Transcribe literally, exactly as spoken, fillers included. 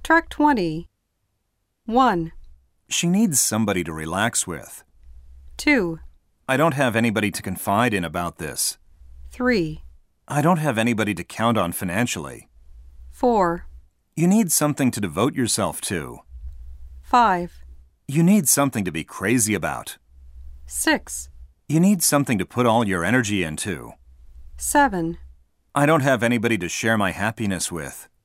Track twenty. one, She needs somebody to relax with. two, I don't have anybody to confide in about this. three, I don't have anybody to count on financially. four, You need something to devote yourself to. five, You need something to be crazy about. six, You need something to put all your energy into. seven, I don't have anybody to share my happiness with.